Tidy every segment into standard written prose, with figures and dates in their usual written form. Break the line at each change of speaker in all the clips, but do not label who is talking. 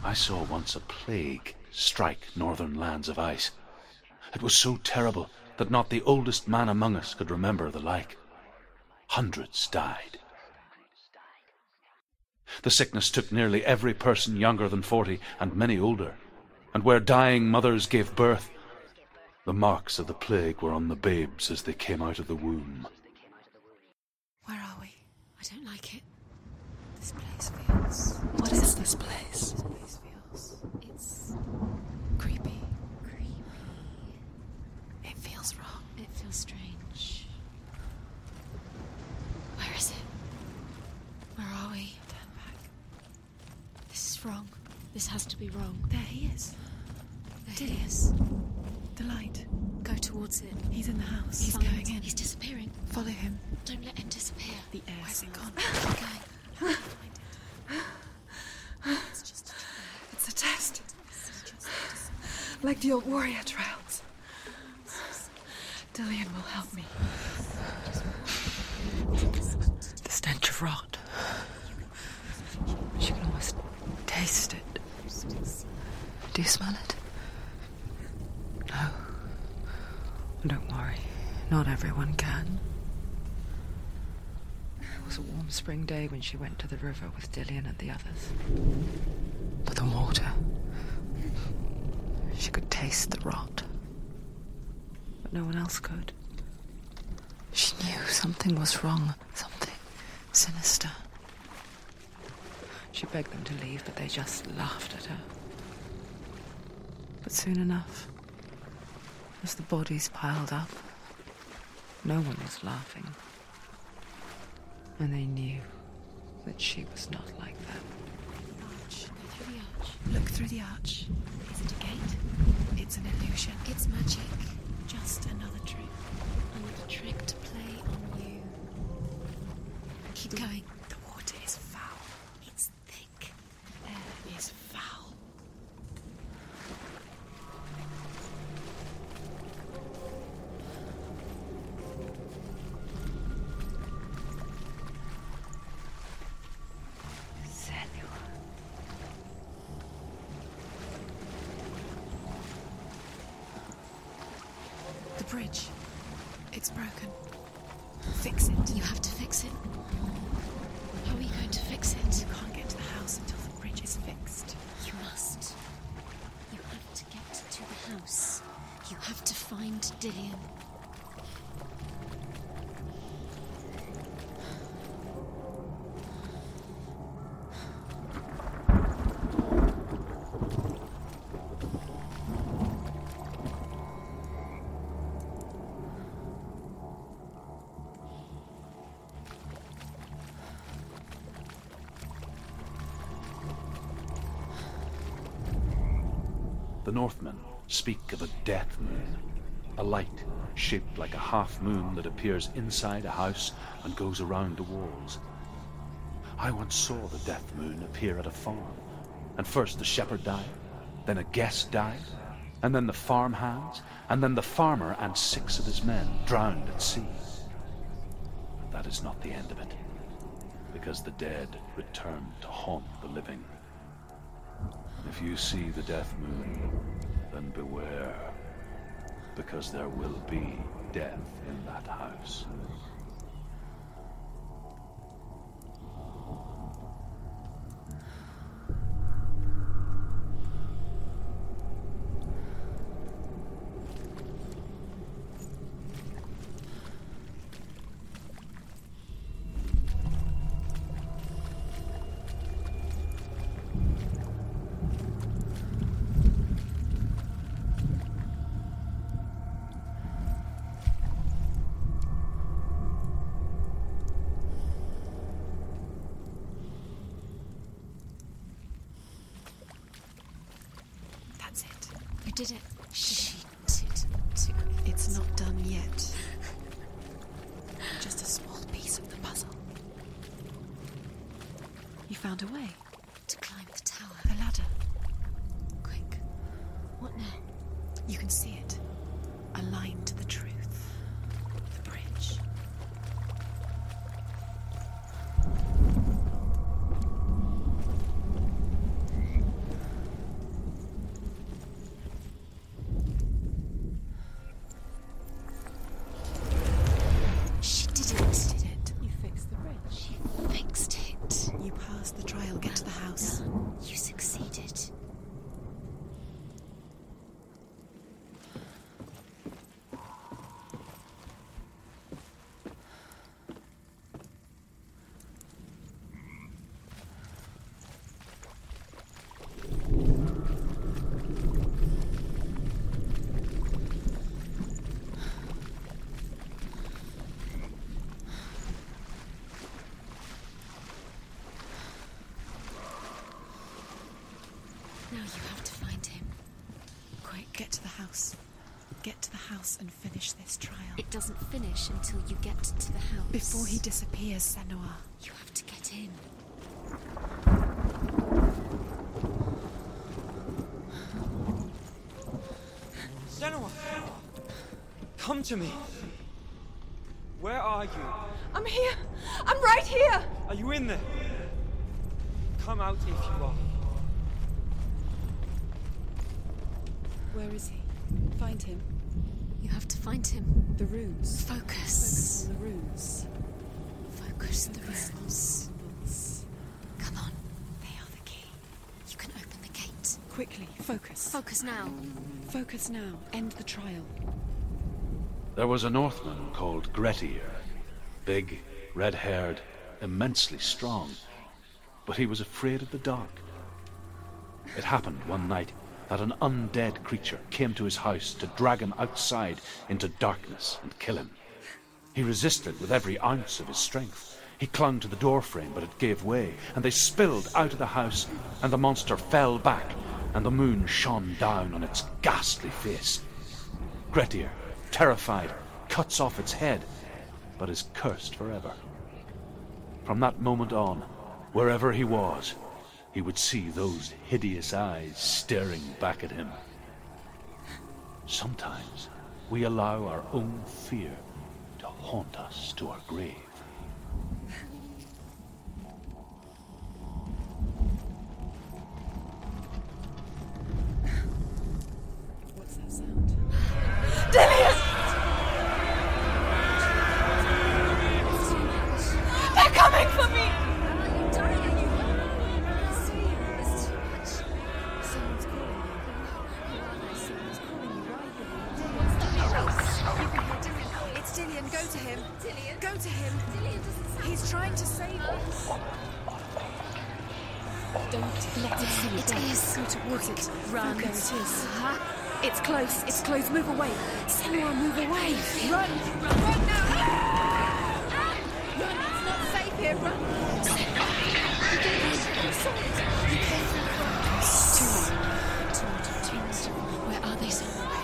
I saw once a plague strike northern lands of ice. It was so terrible that not the oldest man among us could remember the like. Hundreds died. The sickness took nearly every person younger than 40 and many older, and where dying mothers gave birth, the marks of the plague were on the babes as they came out of the womb.
Where are we? I don't like it. This place feels...
What is this place?
This place feels... It's... creepy. It feels wrong. It feels strange. Where is it? Where are we? Turn back. This is wrong. This has to be wrong.
There he is.
There he is.
The light.
Go towards it.
He's in the house.
He's
Find
going
it.
in. He's disappearing.
Follow him.
Don't let him disappear.
The air
Where's it
smells.
gone? Keep going. Find it. It's just a trial.
It's a test.
It's just a
Like the old warrior trials. Dillian will help me. The stench of rot. She can almost taste it. Do you smell it? No. Don't worry. Not everyone can. It was a warm spring day when she went to the river with Dillian and the others. But the water... She could taste the rot. But no one else could. She knew something was wrong. Something sinister. She begged them to leave, but they just laughed at her. But soon enough, as the bodies piled up, no one was laughing. And they knew that she was not like that.
arch. Go through the arch.
Look through the arch.
Is it a gate?
It's an illusion.
It's magic.
Just another trick.
Another trick to play on you. Keep going.
The water is foul.
It's thick.
The air is foul. The bridge. It's broken. Fix it.
You have to fix it. How are you going to fix it?
You can't get to the house until the bridge is fixed.
You must. You have to get to the house. You have to find Dillian.
The Northmen speak of a death moon, a light shaped like a half moon that appears inside a house and goes around the walls. I once saw the death moon appear at a farm, and first the shepherd died, then a guest died, and then the farmhands, and then the farmer and 6 of his men drowned at sea. But that is not the end of it, because the dead return to haunt the living. If you see the death moon, then beware, because there will be death in that house.
That's it.
You did it. She did.
It's not done yet. Just a small piece of the puzzle. You found a way.
To climb the tower.
The ladder.
Quick. What now?
You can see it. Aligned to the truth. The bridge.
house. Get to the house and finish this trial.
It doesn't finish until you get to the house.
Before he disappears, Senua.
You have to get in.
Senua! Come to me! Where are you?
I'm here! I'm right here!
Are you in there? Come out if you are.
Where is he? Find him.
You have to find him.
The runes.
Focus.
Focus on the runes.
Focus the runes.
Symbols.
Come on. They are the key. You can open the gate.
Quickly, focus.
Focus now.
Focus now. End the trial.
There was a Northman called Grettir. Big, red-haired, immensely strong. But he was afraid of the dark. It happened one night that an undead creature came to his house to drag him outside into darkness and kill him. He resisted with every ounce of his strength. He clung to the doorframe, but it gave way, and they spilled out of the house, and the monster fell back, and the moon shone down on its ghastly face. Grettir, terrified, cuts off its head, but is cursed forever. From that moment on, wherever he was, he would see those hideous eyes staring back at him. Sometimes we allow our own fear to haunt us to our grave.
What's that sound?
Dillion! They're coming for me!
It's Dillion. Go to him. Go to him. He's trying to save us. Don't let it see you.
It is.
Go towards it.
Run.
There it is.
It's close. It's close. Move away.
Senua, move away.
Run! Run now! Run! It's not safe here. Run!
Where are they?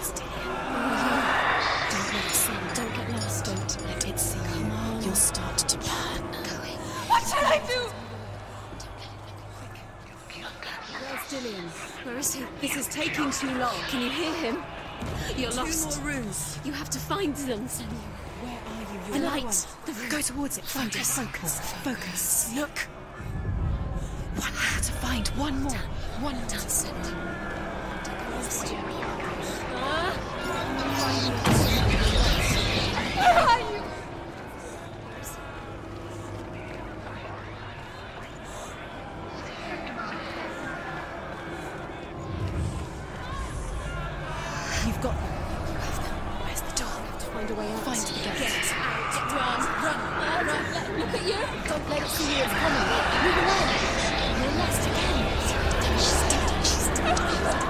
Don't let it see you. Don't get lost. Don't let it see you. Come on. You'll start to burn.
What shall I do?
Where's Dillion?
Where is he?
This is taking too long. Can you hear him?
You're
Two
lost.
more runes.
You have to find them, Senua.
Where are you?
The
You're
light. The
one.
room.
Go towards it. Find it.
Focus.
Focus. Look. One more to find. One more. One more.
That's it.
Where are you?
You've got them. You have them. Where's the door?
Find a way out.
Find the gate.
Get out. Run. Look at you. Don't let it see you. It's coming. Move away. You're lost again.
She's dead.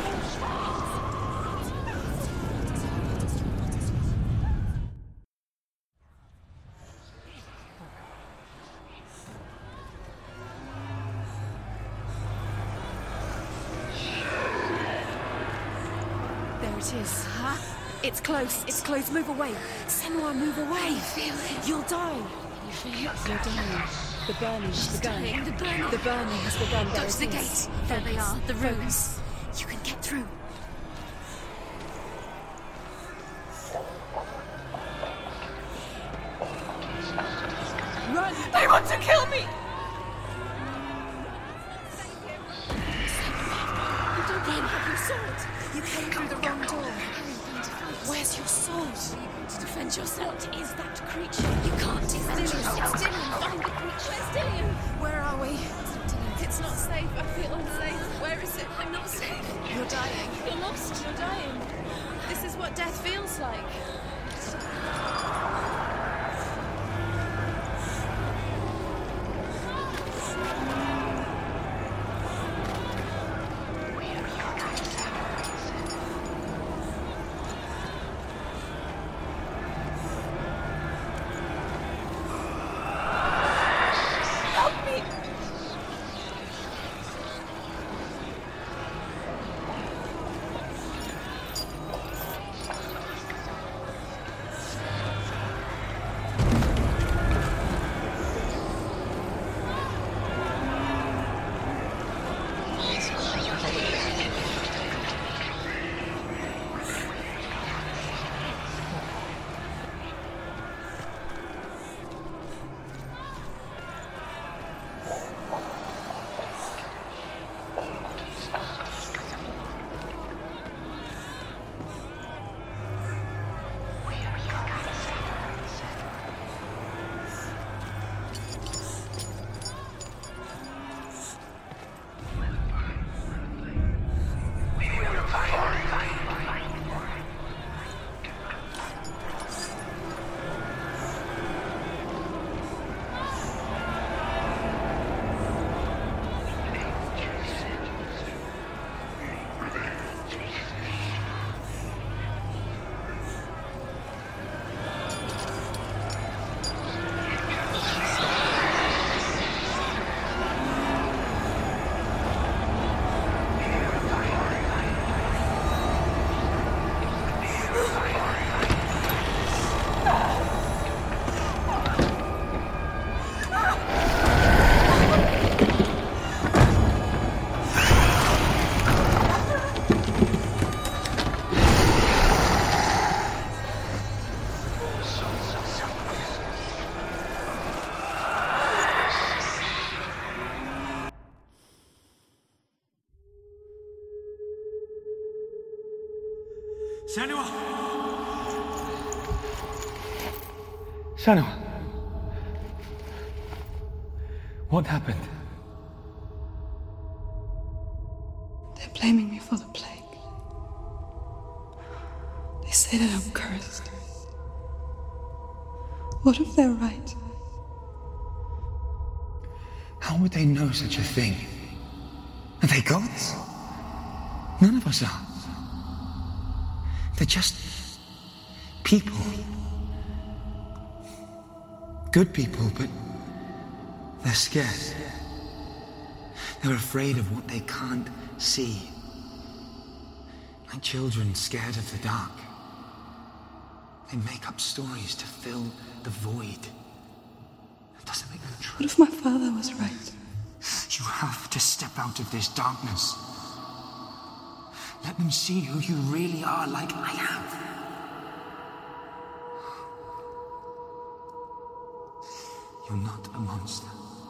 There it is.
It's close. It's close. Move away.
Senua, move away.
Feel it.
You'll die.
You feel it?
You're dying. The burning has begun.
dying. The burning.
The burning has begun.
Go
There
to the
it
gate.
is.
There they are. The
Focus.
runes. You can get through.
Run!
They want to kill me.
You don't even have your sword.
You came through the wrong door. Where's your sword?
To defend yourself.
What is that creature?
You can't defend yourself. It's Dillion. Find the creature. It's Dillion.
Where are we?
It's not safe. I feel unsafe. Where is it?
I'm not safe.
You're dying.
You're lost. You're dying. This is what death feels like. Help me!
Senua! Senua! What happened?
They're blaming me for the plague. They say that I'm cursed. What if they're right?
How would they know such a thing? Are they gods? None of us are. They're just people. Good people, but they're scared. They're afraid of what they can't see. Like children scared of the dark. They make up stories to fill the void. That doesn't make them true.
What if my father was right?
You have to step out of this darkness. Let them see who you really are, like I have. You're not a monster.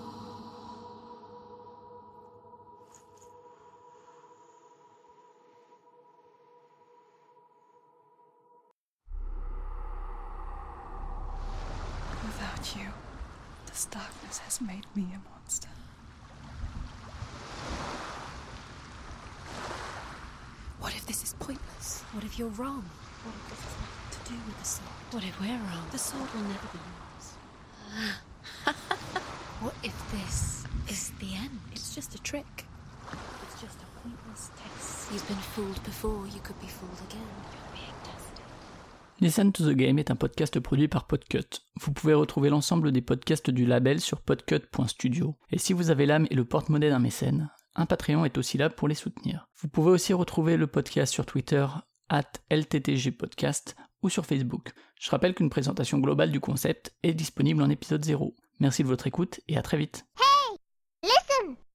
Without you, this darkness has made me a monster.
What if this is pointless? What if you're wrong? What if this has nothing to do with the sword? What if we're wrong? The sword will never be yours. What if this is the end? It's just a trick. It's just a pointless test. You've been fooled before, you could be fooled again. You're being tested.
Listen to the Game est un podcast produit par Podcut. Vous pouvez retrouver l'ensemble des podcasts du label sur podcut.studio. Et si vous avez l'âme et le porte-monnaie d'un mécène, un Patreon est aussi là pour les soutenir. Vous pouvez aussi retrouver le podcast sur Twitter @LTTGpodcast ou sur Facebook. Je rappelle qu'une présentation globale du concept est disponible en épisode 0. Merci de votre écoute et à très vite.
Hey! Listen!